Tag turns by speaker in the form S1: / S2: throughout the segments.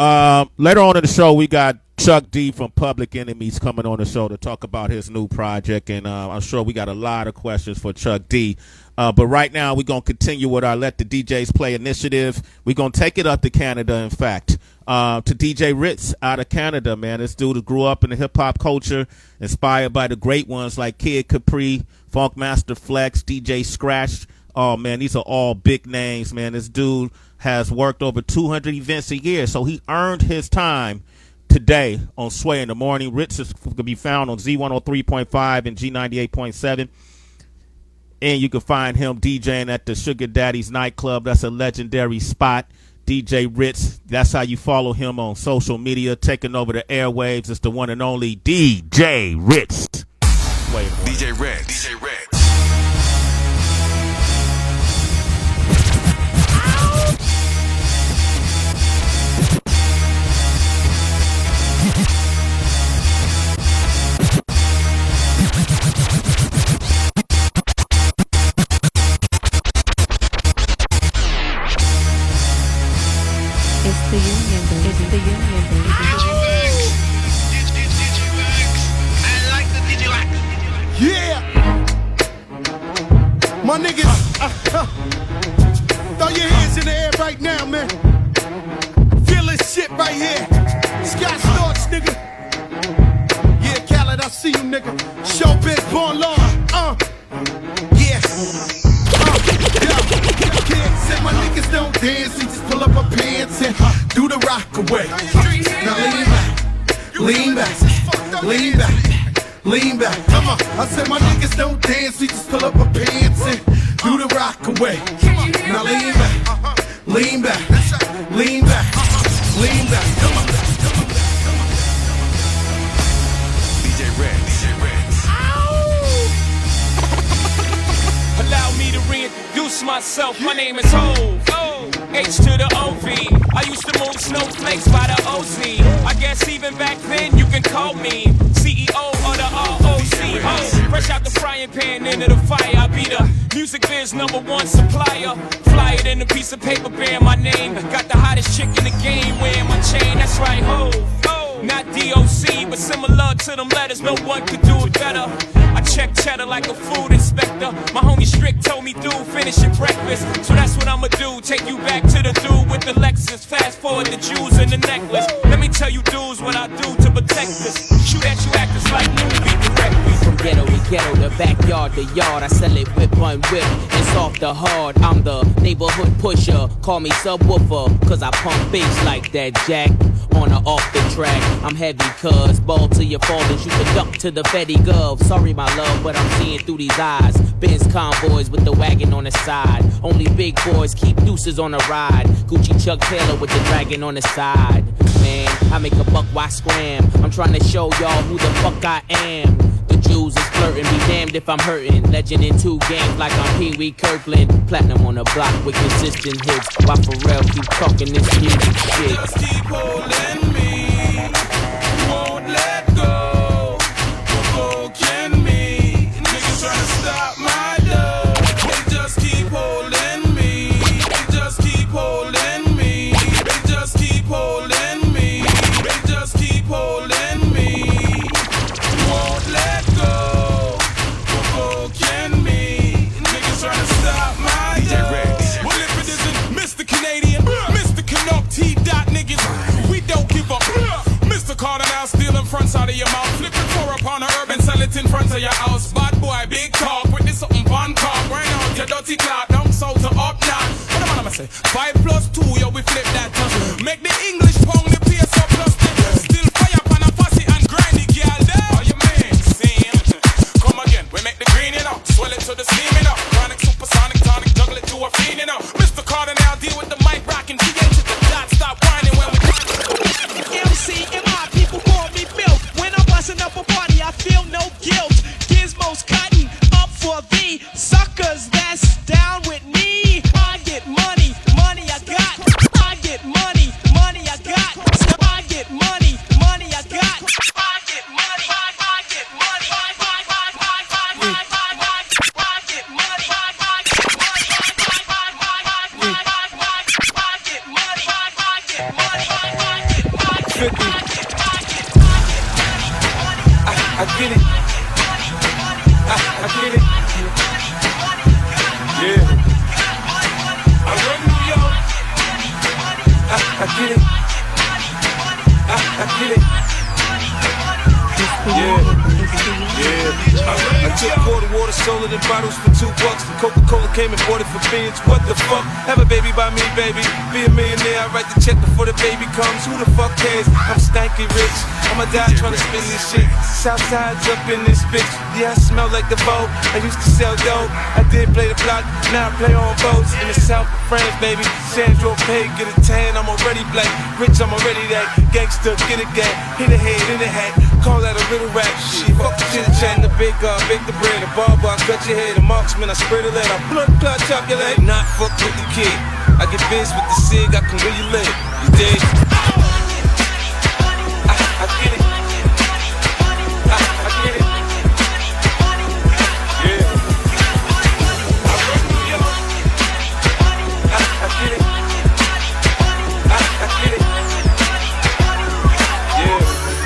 S1: Later on in the show, we got Chuck D from Public Enemies coming on the show to talk about his new project, and I'm sure we got a lot of questions for Chuck D. But right now, we're going to continue with our Let the DJs Play initiative. We're going to take it up to Canada, in fact, to DJ Ritz out of Canada, man. This dude grew up in the hip-hop culture, inspired by the great ones like Kid Capri, Funkmaster Flex, DJ Scratch. Oh, man, these are all big names, man. This dude has worked over 200 events a year, so he earned his time today on Sway in the Morning. Ritz is going to be found on Z103.5 and G98.7. And you can find him DJing at the Sugar Daddy's nightclub. That's a legendary spot. DJ Ritz. That's how you follow him on social media. Taking over the airwaves. It's the one and only DJ Ritz.
S2: DJ Ritz. DJ Ritz.
S3: It's the union, baby. It's the union, baby.
S4: Digivax. I like the Digivax.
S5: Yeah! My niggas, throw your hands in the air right now, man. Feel this shit right here. Scott Storch, nigga. Yeah, Khaled, I see you, nigga. Showbiz, born law. Yeah. Said my niggas don't dance, we just pull up our pants and do the rock away. Now lean back, lean back, lean back. Come on. I said my niggas don't dance, we just pull up our pants and do the rock away. Now lean back, lean back, lean back, lean back. Come on.
S2: DJ Red, DJ Red.
S6: Allow me to reintroduce myself. My name is Hov. H to the OV. I used to move snowflakes by the OZ. I guess even back then you can call me CEO of the ROC. Fresh out the frying pan into the fire. I be the music biz #1 supplier. Fly it in a piece of paper bearing my name. Got the hottest chick in the game wearing my chain. That's right, Hov. Not DOC, but similar to them letters. No one could do it better. I check cheddar like a food inspector. My homie Strick told me, dude, finish your breakfast. So that's what I'ma do. Take you back to the dude with the Lexus. Fast forward the jewels and the necklace. Let me tell you dudes what I do to protect this. Shoot at you actors like movie directors.
S7: From ghetto to ghetto, the backyard to yard. I sell it whip on whip. It's off the hard. I'm the neighborhood pusher. Call me subwoofer, cause I pump bass like that, Jack. On or off the track, I'm heavy, cuz ball till you fall and shoot the duck to the Betty Gov. Sorry, my love, but I'm seeing through these eyes. Benz convoys with the wagon on the side. Only big boys keep deuces on the ride. Gucci Chuck Taylor with the dragon on the side. Man, I make a buck, why scram? I'm trying to show y'all who the fuck I am. The Jews is flirting, be damned if I'm hurting. Legend in 2 games like I'm Pee Wee Kirkland. Platinum on the block with consistent hits. Why Pharrell keep talking this music shit?
S6: Just keep holding me. Won't let go. Provoking me. Niggas trying to stop my love. They just keep holding me. They just keep holding me. They just keep holding me. They just keep holding me. Won't let go. Provoking me. Niggas trying to stop my love. Well, if it isn't Mr. Canadian, Mr. Canuck, T-Dot niggas, we don't give up. Mr. Carter now stealing fronts out of your mouth. Flipping 4 upon a herb and sell it in front of your house. Bad boy, big talk with this something fun cock. Right out your dirty clock, down south to up now. What am I gonna say? 5 plus 2, yo, we flip that touch. Make the English pound the PS up plus 10. Still fire pan a fussy and grindy, girl. There. Oh, you mean? Same. Come again, we make the green, you know. Swell it to the steam, you know. Chronic, supersonic, tonic, juggle it to a fiend, you know. Mr. Carter now deal with the mic rockin'. VA to the dot, stop whining when we
S8: MCMI, people call me Bill. When I'm busting up a party, I feel no guilt. Gizmos cutting up for the suckers that's down with me. I get money, money I got. I get money.
S6: 50. I get it. I get it. Yeah. I run New York. I get it. I get it. Yeah. I took quarter water, sold it in bottles for $2. The Coca-Cola came and bought it for beans. What the fuck? Have a baby by me, baby. Be a millionaire, I write the check before the baby comes. Who the fuck cares? I'm stanky rich. I'ma die trying to spin this shit. Southside's up in this bitch. Yeah, I smell like the Vogue. I used to sell dope. I did play the block, now I play on boats. In the south of France, baby. Sandro Pay, get a tan, I'm already black. Rich, I'm already that. Gangster, get a gang. Hit a head, in a hat. Call that a little rap. Shit, fuck the chit chat. The big bake the bread. The barber, I cut your head. The marksman, I spread a lead. I blood clot, chop your leg. Not fuck with the kid. I get biz with the cig, I can really live. You dig? I get it. I get it. Yeah. I run New York. I get it. I get it. Yeah.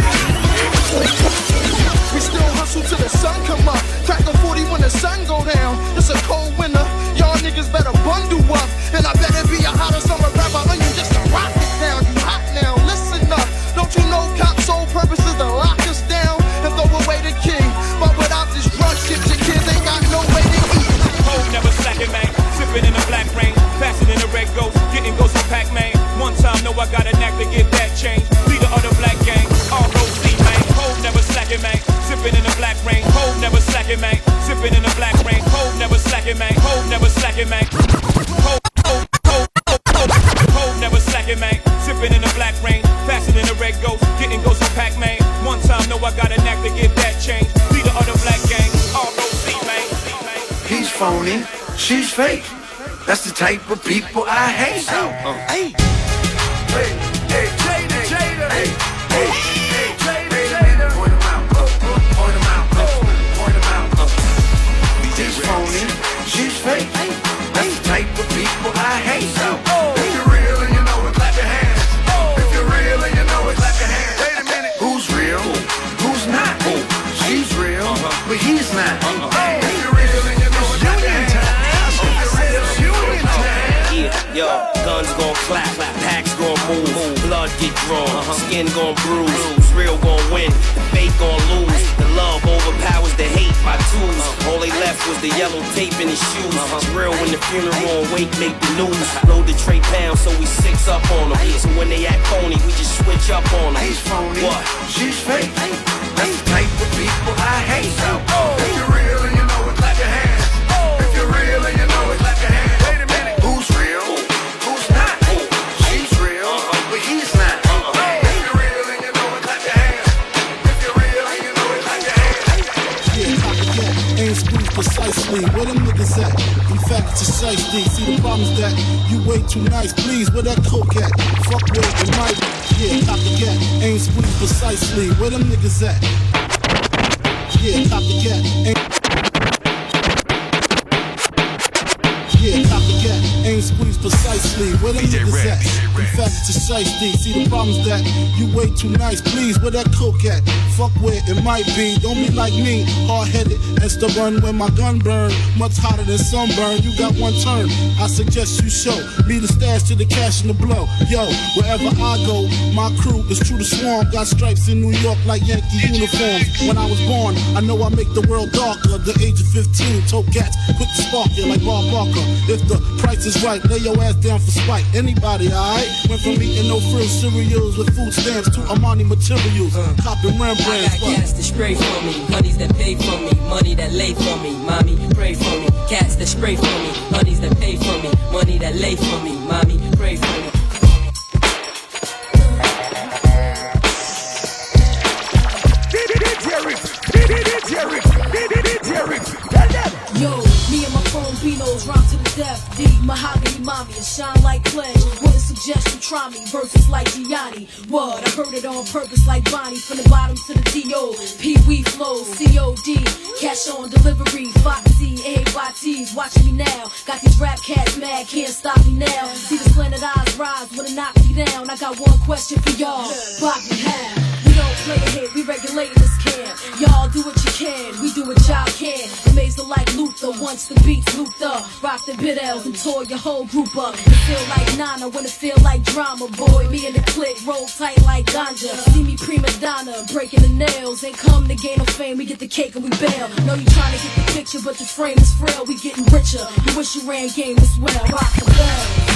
S5: We still hustle till the sun come up. Crack a 40 when the sun go down. It's a cold winter. Y'all niggas better bundle up. And I better be a hotter summer rapper onion just to rock it down. You hot now, listen up. Don't you know cops' sole purpose is to lock us down and throw away the king? But without this drug shit, your kids ain't got no way to eat.
S6: Hold never slacking, man. Sipping in the black rain. Faster than the red ghost. Getting ghosts from Pac-Man. One time, know I got a knack to get that change. Leader of the black gang. R.O.C. man. Hold never slacking, man. Sipping in the black rain. Hold never slacking, man. Sipping in the black rain. Hold never slacking, man. Hold never slacking, man. Hold never slacking, man. Sipping in the black rain. Faster than the red ghost. Getting ghosts from Pac-Man. One time, know I got a knack to get that change. Leader of the black gang. R.O.C. man.
S9: He's phony, she's fake. That's the type of people I hate. Hey, hey, Jada, Jada, hey, hey, hey, Jada, point him out, point him out, point him out. He's phony, she's fake. That's the type of people I hate. If you're real and you know it, clap your hands. If you're real and you know it, clap your hands. Wait a minute, who's real? Who's not? She's real, but he's not. If you're real and you know it, clap your hands.
S10: Yo, guns gon' clap, packs gon' move, blood get drawn, skin gon' bruise, real gon' win, the fake gon' lose, the love overpowers the hate, my tools, all they left was the yellow tape in his shoes, it's real when the funeral and wake make the news, load the tray pound so we 6 up on them, so when they act phony, we just switch up on them.
S9: He's phony,
S10: what?
S9: She's fake, that's the type of people I hate. If you're real and you know it, clap your hands. If you're real and you know it, clap your hands. Wait a minute, who's real? Who's not? She's real, but he's not. If you're real and you know it, clap your hands. If you're real and you know it, clap your hands.
S11: Yeah, copy that. Ain't squeezed precisely. Where them niggas at? In fact, it's a size D. See the problem is that you way too nice. Please, where that coke at? Fuck with it might be. Yeah, copy that. Ain't squeezed precisely. Where them niggas at? Yeah, copy that. Yeah, copycat, ain't squeezed precisely. Where them niggas at? In fact, it's a shiesty. See the problem's that you way too nice. Please, where that coke at? Fuck where it might be. Don't be like me, hard-headed and stubborn when my gun burn. Much hotter than sunburn. You got one turn. I suggest you show me the stash to the cash and the blow. Yo, wherever I go, my crew is true to swarm. Got stripes in New York like Yankee uniforms. When I was born, I know I make the world darker. The age of 15, told cats, quick to spark you like Bob Barker. If the price is right, lay your ass down for spite. Anybody, alright? Went from eating no frill cereals with food stamps to Armani materials. Copping Rembrandts.
S12: I got cats that spray for me, honeys that pay for me, money that lay for me, mommy, pray for me. Cats that spray for me, honeys that pay for me, money that lay for me, mommy, pray for me. Yo, me and my phone Beanos rhyme to the
S13: Steph D, Mahogany Mommy, and shine like clay. Wouldn't suggest you try me, verses like Gianni. What? I heard it on purpose like Bonnie, from the bottom to the T.O. Pee-wee flows, C.O.D. Cash on delivery, Foxy, A-Y-T's, watch me now. Got these rap cats mad, can't stop me now. See the slanted eyes rise, wanna knock me down. I got one question for y'all, pop me how? We don't play a hit, we regulating this camp. Y'all do what you can, we do what y'all can. Amazing like Luther, once the beats looped up. Rock the bit L's and tore your whole group up. It feel like Nana when it feel like drama. Boy, me and the clique roll tight like ganja. See me prima donna, breaking the nails. Ain't come to gain no fame, we get the cake and we bail. Know you trying to get the picture, but the frame is frail. We getting richer, you wish you ran game as well. Rock the bell.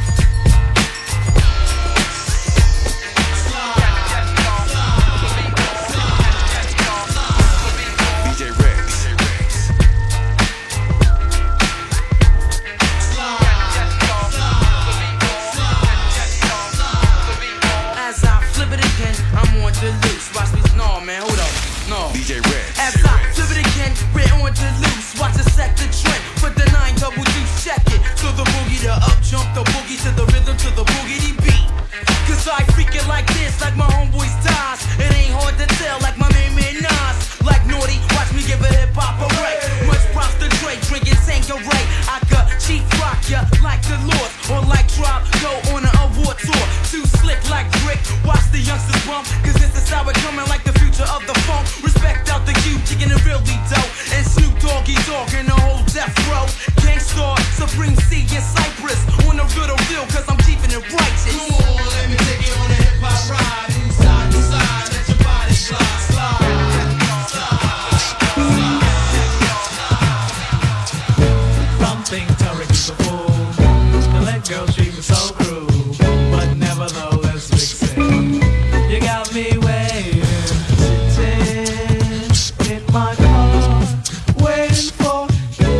S2: DJ Red.
S14: As I flip it again, we're on the loose. Watch us set the trend. Put the 9 double deuce, check it. To the boogie, the up jump, the boogie to the rhythm, to the boogity beat. Cause I freak it like this, like my homeboys dies. It ain't hard to tell, like my main man Nas. Like Naughty, watch me give a hip hop a break. Much props to Drake, drinking Tanqueray. I could cheap rock ya like the Lord, or like Drop, go on an award tour. Too slick like Rick, watch the youngsters bump. Cause this is how it coming like the future of the funk. Respect out the Q, kicking it really dope. And Snoop Doggy Dogg in the whole death row. Gangstar, Supreme C in Cyprus. On the real deal, cause I'm keeping it righteous.
S5: Let me take you on a hip hop ride. Inside to side, let your body slide,
S15: Something Turek is a fool. The let girl she was so cruel, but nevertheless vixen. You got me waiting, sitting in my car, waiting for you.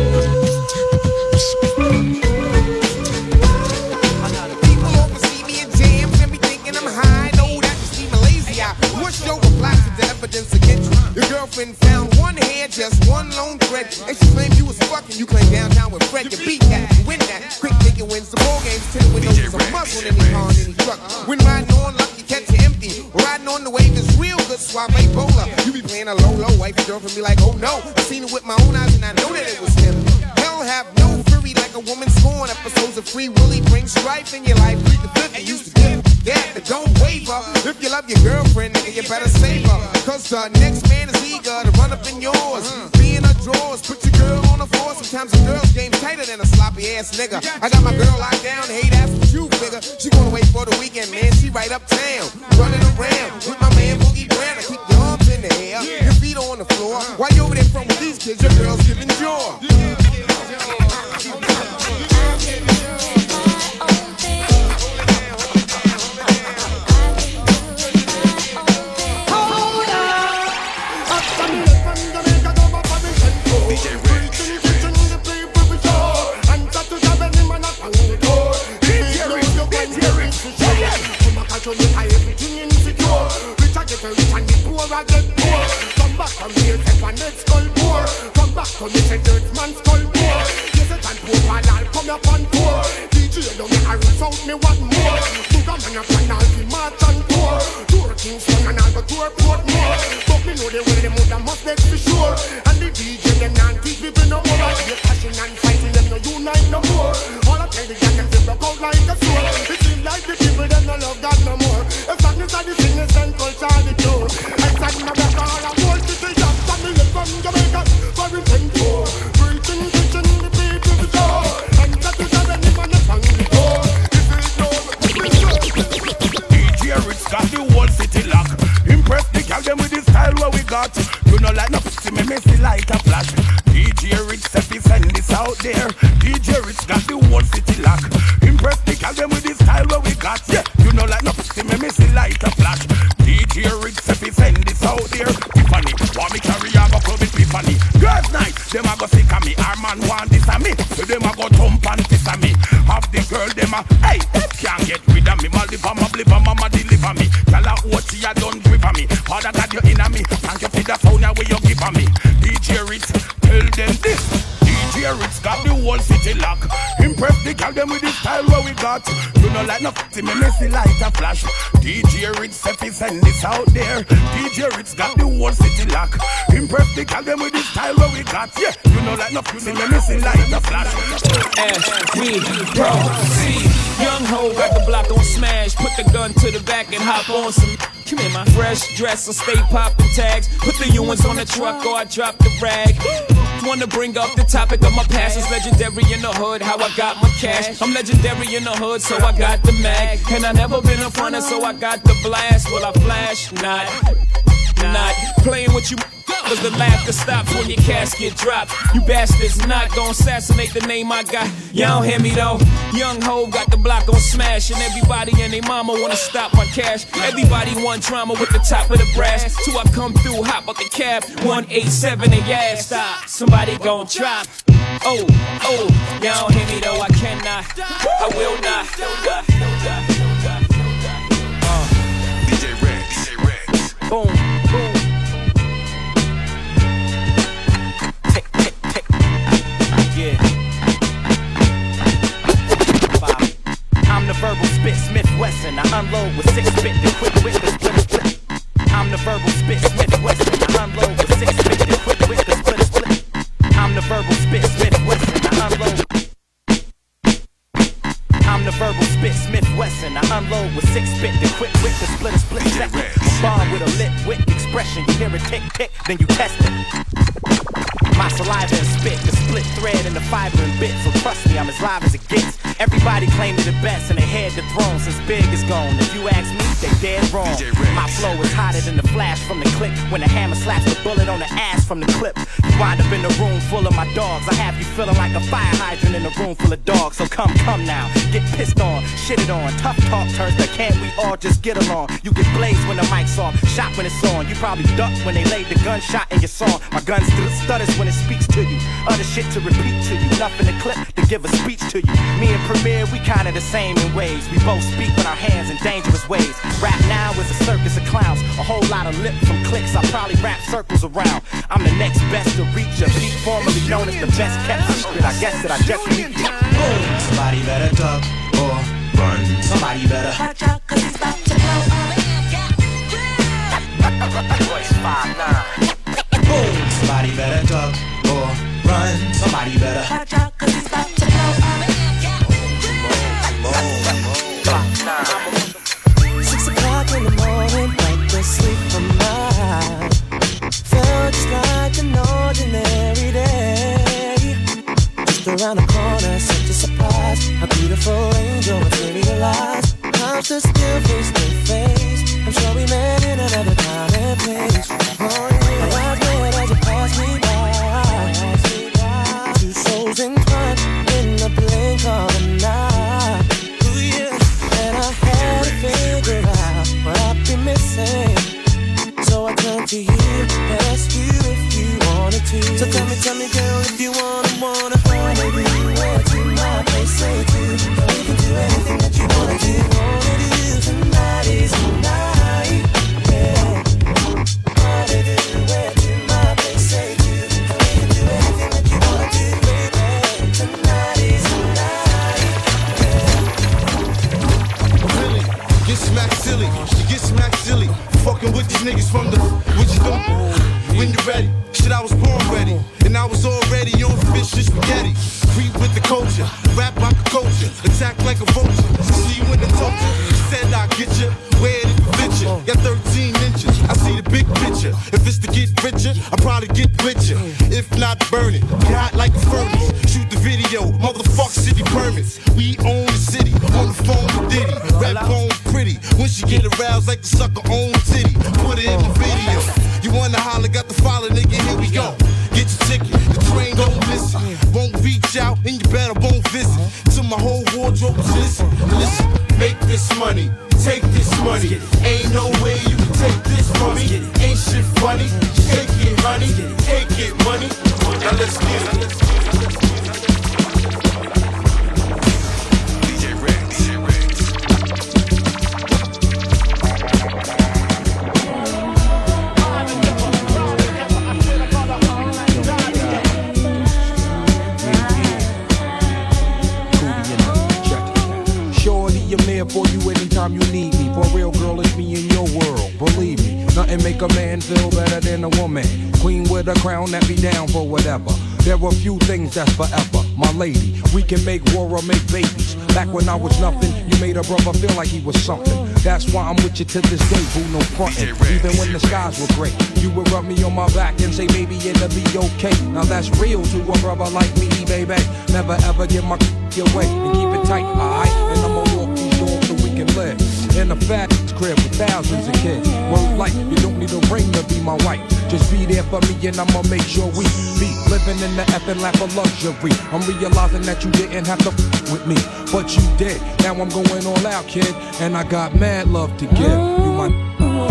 S16: People oversee me in jams and be thinking I'm high. No, that just be lazy. I wish your reply to the evidence against you. Your girlfriend found one hair, just one lone thread, and she claimed you was fucking. You claim downtown with Fred. You beat that, you win that. Quick thinking wins the ball games. 10 windows is a must on any car, on any truck. When riding on luck, you catch it empty. Riding on the wave is real good. Suave bowler. You be playing a low, wife your girlfriend be like, oh no. I seen it with my own eyes and I know that it was him. Hell have no fury like a woman scorn. Episodes of Free Willy bring strife in your life. Read the 50 used to give that, but don't waver. If you love your girlfriend, nigga, you better save her. Cause the next man is eager to run up in yours. Be in her drawers, put your girl on the floor. Sometimes a girl's game tighter than a sloppy ass nigga. I got my girl locked down, hey, that's what you figure. She gonna wait for the weekend, man, she right uptown. Running around with my man Boogie Brown. I keep your arms in the air, your feet on the floor. While you over there front with these kids, your girl's giving joy.
S17: Everything insecure. Rich I get rich and the poor I get poor. Come back from here, take my next skull poor. Come back to me, say dirt man skull poor. Yes, I can poor while I'll come up on tour. DJ don't make a rinse out me what more. Booga man up and I'll be march and tour. Tour Kingston and I'll go tour Portmore. But me know the way them would have must make for sure. And the DJ them not teach people no more. I be passion and fighting them no unite no more. All I tell the gang them they broke out like a sword. It seems like the people them no love God no more. If darkness are the sickness and culture are the cure. I stand in my back all I want to say that family from Jamaica for repent for. Preaching, teaching the people to go. And that is how any man is on the door.
S18: DJ Rich got the whole city lock. Impress the girl them with the style what we got. You know like no pussy me messy like a flash. DJ Rich said he send this out there. DJ Rich got the whole city lock. Impress the girl them with the style what we got. Yeah, you know like no pussy me messy like a flash. DJ Rich said he send this out there. Tiffany, want me carry a go club with Tiffany. Girls night, them a go sick of me. Our man want this of me, so them a go thump and piss of me. Have the girl them a, hey, that can't get rid of me. My liver, my bliver, mama deliver me. Tell her what she a done grip of me. Father God you in a me. Thank you for the sound where you give of me. DJ Rich, tell them this. DJ DJ Ritz got the whole city lock. Impress the girl them with the style where we got. You know like no f***y me messy light a flash. DJ Ritz if he send this out there. DJ Ritz got the whole city lock. Impress the girl them with the style where we got. Yeah, you know like no f***y me messy light a flash.
S6: As we proceed, young ho got the block on smash. Put the gun to the back and hop on some. Come here, my fresh dress, I stay popping tags. Put the Ewans on the truck or I drop the rag. Wanna bring up the topic of my past. It's legendary in the hood, how I got my cash. I'm legendary in the hood, so I got the mag. And I never been a fronter, so I got the blast. Will I flash? Not playing with you. Cause the laughter stops when your casket drops. You bastards not gon' assassinate the name I got. Y'all don't hear me though. Young ho got the block on smash. And everybody and they mama wanna stop my cash. Everybody want drama with the top of the brass. Till I come through, hop out the cab. 187 and yeah, stop. Somebody gon' drop. Oh, y'all don't hear me though. I cannot, I will not.
S2: DJ Red.
S6: Boom.
S19: I'm the verbal spit, Smith Wesson. I unload with 6 bit, then quick whip the split. I'm the verbal spit, Smith Wesson. I unload with 6 bit, then quick whip the split. I'm the verbal spit, Smith Wesson. I unload. I'm the verbal spit, Smith Wesson. I unload with 6 bit, then quick whip the split second. Bomb with a lit wick expression. You hear it tick tick, then you test it. My saliva and spit, the split thread and the fiber and bit. So trust me, I'm as live as it gets. Everybody claim they're the best and they had the throne since Big is gone. If you ask me, they dead wrong. My flow is hotter than the flash from the click. When the hammer slaps the bullet on the ass from the clip. You wind up in a room full of my dogs. I have you feeling like a fire hydrant in a room full of dogs. So come now, get pissed on, shitted on. Tough talk turns to can't we all just get along? You get blazed when the mic's off, shot when it's on. You probably ducked when they laid the gunshot in your song. My gun stutters when it speaks to you. Other shit to repeat to you. Nothing to clip to give a speech to you. Me and Premier, we kinda the same in ways. We both speak with our hands in dangerous ways. Rap now is a circus of clowns. A whole lot of lip from clicks. I probably wrap circles around. I'm the next best to reach a beat formerly known as the best kept secret. I guess that I just meet you.
S20: Somebody better duck or run. Somebody better watch out, cause he's about to blow up.
S19: Voice 5'9".
S20: Boom. Somebody better duck or run. Somebody better watch out, cause he's about to blow up.
S21: 6 o'clock in the morning, like the sleep from mine. Felt just like an ordinary day. Just around the corner, such a surprise. A beautiful angel materialized. I'm still face to face. I'm sure we met in another time and place. Oh yeah, my eyes met as you passed me by. 2 souls entwined in the blink of an eye. Ooh yeah, and I had to figure out what I'd be missing. So I turned to you and asked you if you wanted to. So tell me girl, if you wanna find anywhere to my place, say to. We can do anything that you wanna do. Tonight is the night, yeah. Wanna do it to my place, say to. We can do anything that you wanna do, baby. Tonight is the night,
S5: yeah. Really, get smacked silly, you get smacked silly. Fucking with these niggas from the, what you doing? When you're ready, shit I was born ready. And I was already on fish and spaghetti. Creep with the culture, rap like a culture. Attack like a vulture, see you in the culture. Said I'll get you, where it fit you. Got 13 inches, I see the big picture. If it's to get richer, I'll probably get richer. If not, burn it, get hot like a furnace. Shoot the video, motherfuck city permits. We own the city, on the phone with Diddy. Rap on pretty, when she get aroused like the sucker own titty. Put it in the video, you wanna holler, got the follow, nigga, here we go. Get your ticket, the train don't miss it. Won't reach out, and you better won't visit. Till my whole wardrobe is listen. Make this money, take this money. Ain't no way you can take this from me. Ain't shit funny, take it honey, take it money. Now let's get it.
S2: DJ Red, DJ Red.
S1: Nothing make a man feel better than a woman. Queen with a crown that be down for whatever. There are few things that's forever. My lady, we can make war or make babies. Back when I was nothing, you made a brother feel like he was something. That's why I'm with you to this day, boo, no frontin'. Even when the skies were gray, you would rub me on my back and say, baby, it'll be okay. Now that's real to a brother like me, baby. Never ever give my away and keep it tight, alright? And I'ma walk these doors so we can live in a fat crib with thousands of kids. Word like, you don't need a ring to be my wife. Just be there for me and I'ma make sure we be living in the effing lap of luxury. I'm realizing that you didn't have to with me, but you did. Now I'm going all out, kid, and I got mad love to give. You my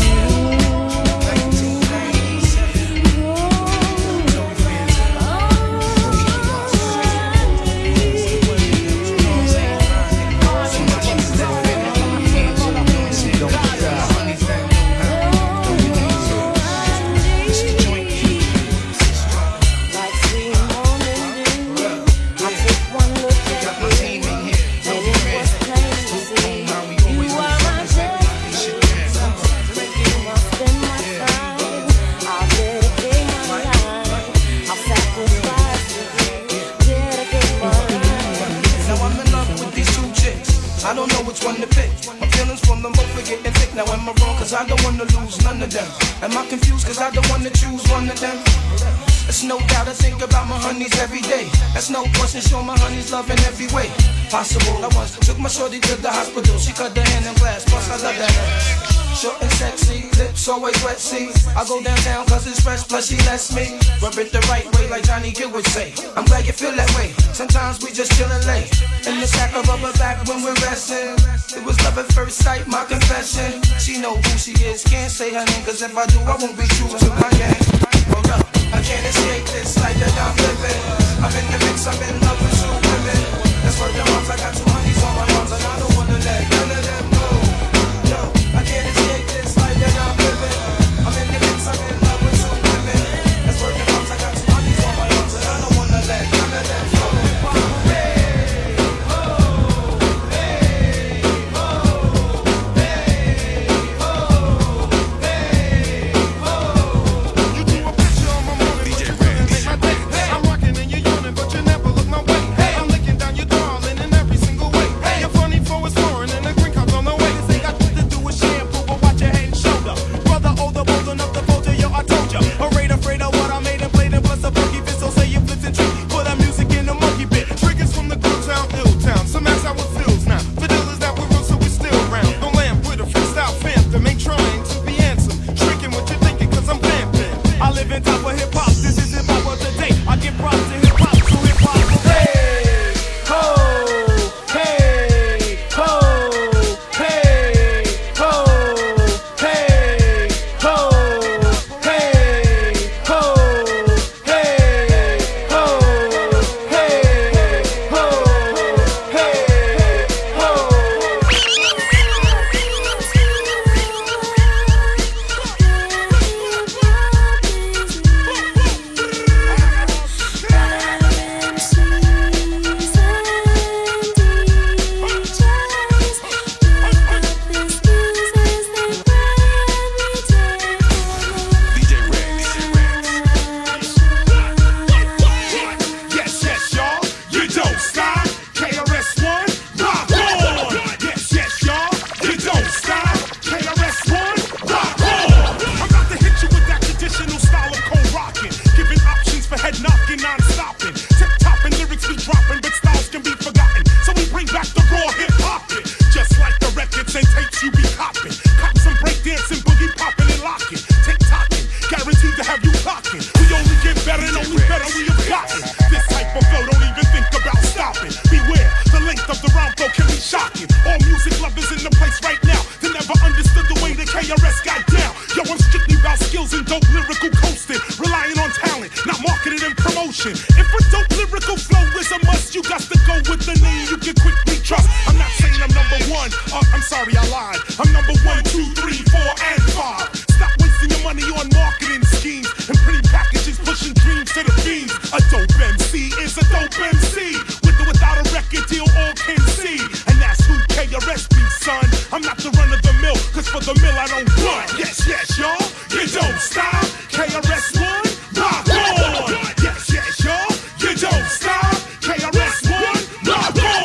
S14: I don't know which one to pick. My feelings from them both are getting thick. Now am I wrong? Cause I don't wanna lose none of them. Am I confused? Cause I don't wanna choose one of them. There's no doubt I think about my honeys every day. That's no question, show my honeys love in every way possible. I once took my shorty to the hospital. She cut her hand in glass, plus I love that. Short and sexy, lips always wet, see. I go downtown cause it's fresh, plus she lets me rub it the right way like Johnny Gill would say. I'm glad you feel that way. Sometimes we just chillin' late in the sack of rubber back when we're resting. It was love at first sight, my confession. She know who she is, can't say her name, cause if I do, I won't be true to my game. Hold up, I can't escape this life that I'm living. I'm in the mix, I'm in love with two women. That's where the moms, I got 2 honeys on my arms, and I don't wanna let none of them go. No, I can't escape this life that I'm living. I'm in the mix, I'm in love with two women. That's where the moms, I got 2 honeys on my arms, and I don't wanna let none of them go.
S18: I'm not the run of the mill, cause for the mill I don't on one. Yes, yes, y'all, you don't stop. KRS-One, rock on. Yes, yes, y'all, you don't stop. KRS-One, rock on.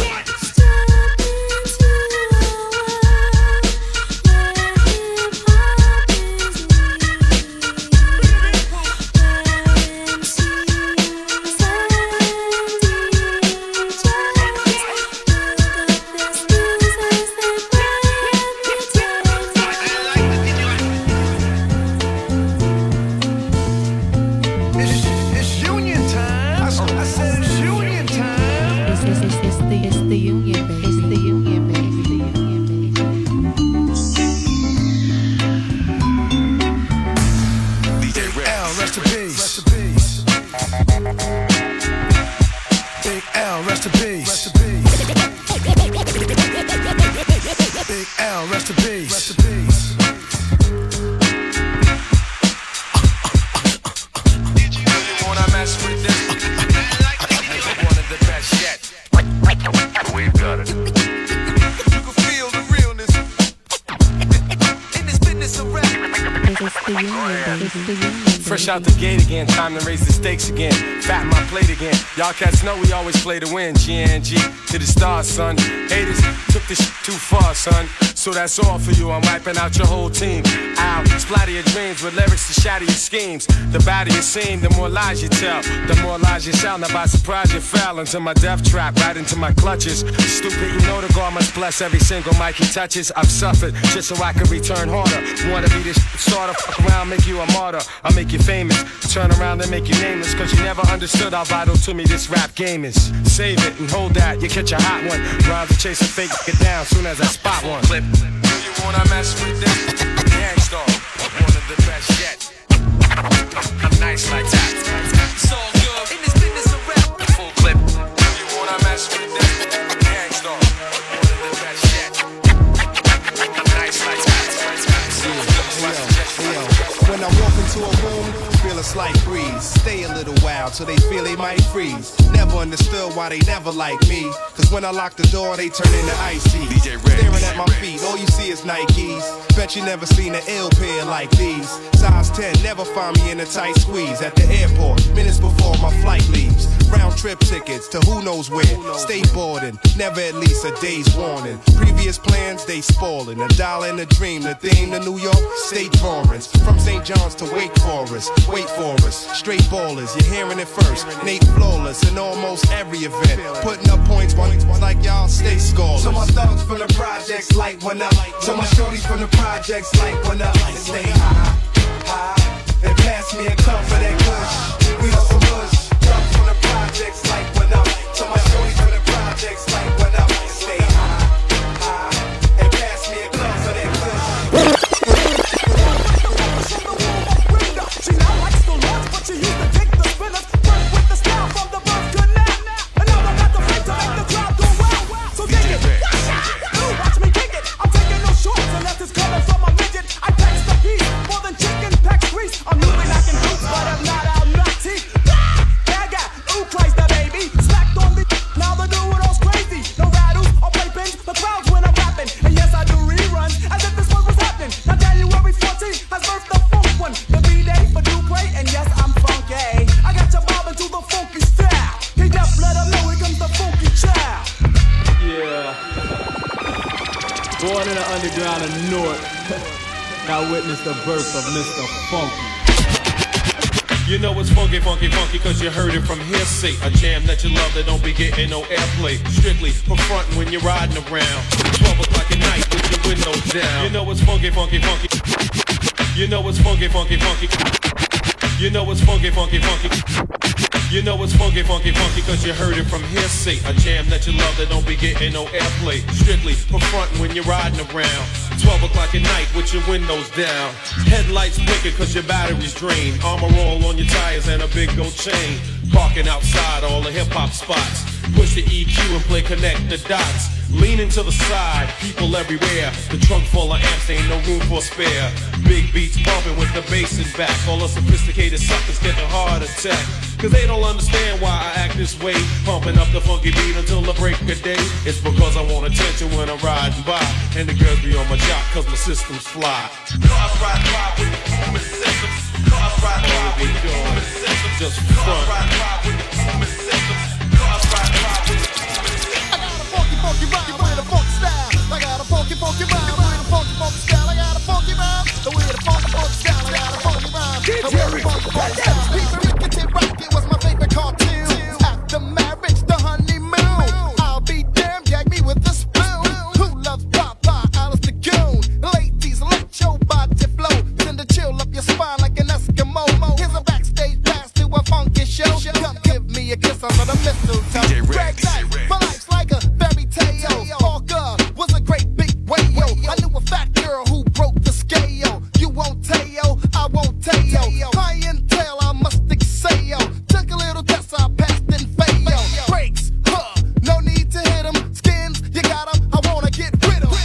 S3: Fresh out the gate again, time to raise the stakes again. Fat my plate again. Y'all cats know we always play to win. GNG to the stars, son. Haters took this shit too far, son. So that's all for you. I'm wiping out your whole team. I'll splatter your dreams with lyrics to shatter your schemes. The badder you seem, the more lies you tell. The more lies you sound. Now by surprise you fell into my death trap, right into my clutches. Stupid, you know the God must bless every single mic he touches. I've suffered just so I can return harder. Wanna be this sort of fuck around, make you a martyr. I'll make you famous. Turn around and make you nameless. Cause you never understood how vital to me this rap game is. Save it and hold that, you catch a hot one. Rhymes to chase a fake, get down soon as I spot one. Clip. Do you wanna mess with them? Gangstar, one of the best yet. I'm nice like that. It's all good in this business of rap. Full clip. Do you wanna mess with them? Gangstar, one of the best yet. I'm nice like that.
S22: When I walk into a room, feel a slight breeze. Stay a little while till they feel they might freeze. Never understood why they never like me. Cause when I lock the door, they turn into ice tea. Staring at my feet, all you see is Nikes. Bet you never seen an ill pair like these. Size 10, never find me in a tight squeeze. At the airport, minutes before my flight leaves. Round trip tickets to who knows where. Stay boarding, never at least a day's warning. Previous plans, they spoiling. $1 in a dream, the theme to New York, state drawings. From St. John's to Wake Forest, wait for us. Straight ballers, you're hearing it first. Nate flawless in almost every event. Putting up points like y'all stay scoreless.
S9: So my thugs from the projects light one up. So my shorties from the projects light one up. And stay high, high, and pass me a cup for that kush. We on some bush. Thugs from the projects light one up. So my shorties from the projects light one up. And stay high, high, and pass me a cup for that kush.
S8: She now likes the lunch, but she used to take the spinners. Work with the style from the birth to now. And now I got the fake to make the crowd go wild. So dig it, ooh, watch me kick it. I'm taking no shorts unless it's coming from a midget. I tax the piece more than chicken packs grease. I'm moving like in boots, but I'm not out nutty. Gaga, ooh, Christ the baby. Slacked on the now they're doing all crazy. No rattles or playpins, the crowds when I'm rapping. And yes, I do reruns as if this one was happening. Now January 14th has birthed the funk one. The B-Day for Dupree, and yes, I'm funky. I got you bobbing to the funky style. He just let him know here comes the funky child.
S23: Yeah. Born in the underground of North. Now witness the birth of Mr. Funky.
S24: You know it's funky, funky, funky, cause you heard it from hearsay. A jam that you love that don't be getting no airplay. Strictly for frontin' when you're riding around. 12 o'clock at night with your windows down. You know it's funky, funky, funky. You know it's funky, funky, funky. You know it's funky, funky, funky. You know it's funky, funky, funky, cause you heard it from hearsay. A jam that you love that don't be getting no airplay. Strictly for frontin' when you're riding around. 12 o'clock at night with your windows down. Headlights blinking cause your battery's drained. Armor all on your tires and a big gold chain. Parking outside all the hip-hop spots. Push the EQ and play connect the dots. Leaning to the side, people everywhere. The trunk full of amps, ain't no room for spare. Big beats bumping with the bass in back. All the sophisticated suckers get a heart attack. Cause they don't understand why I act this way. Pumping up the funky beat until the break of day. It's because I want attention when I'm riding by. And the girls be on my jock cause my system's fly. Cars ride by with the movement systems. Cars ride by with the movement systems. Just front. Cars ride by with the movement systems. Cars ride by with the movement systems. I got a funky, funky rhyme with a funky style. I got a funky, funky rhyme with a funky, funky style. I got a funky rhyme with a funky, funky style. I got a funky rhyme with a funky, funky style. People Rickety Rocket was my favorite cartoon. After marriage, the honeymoon. I'll be damned, gag me with a spoon. Who loves Papa, Alice the Goon? Ladies, let your body flow. Send a chill up your spine like an Eskimo. Here's a backstage pass to a funky show. Come give me a kiss under the mistletoe. Greg Knight, my life's like a fairy tale. Parker was a great big whale. I knew a fat girl who broke the scale. You won't tell, I won't tell. Clientele, I must excel. Took a little test, I passed and failed. Breaks, no need to hit 'em. Skins, you got 'em, I wanna get rid of 'em.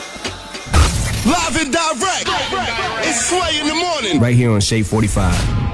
S4: Live and direct. It's Sway in the morning.
S7: Right here on Shade 45.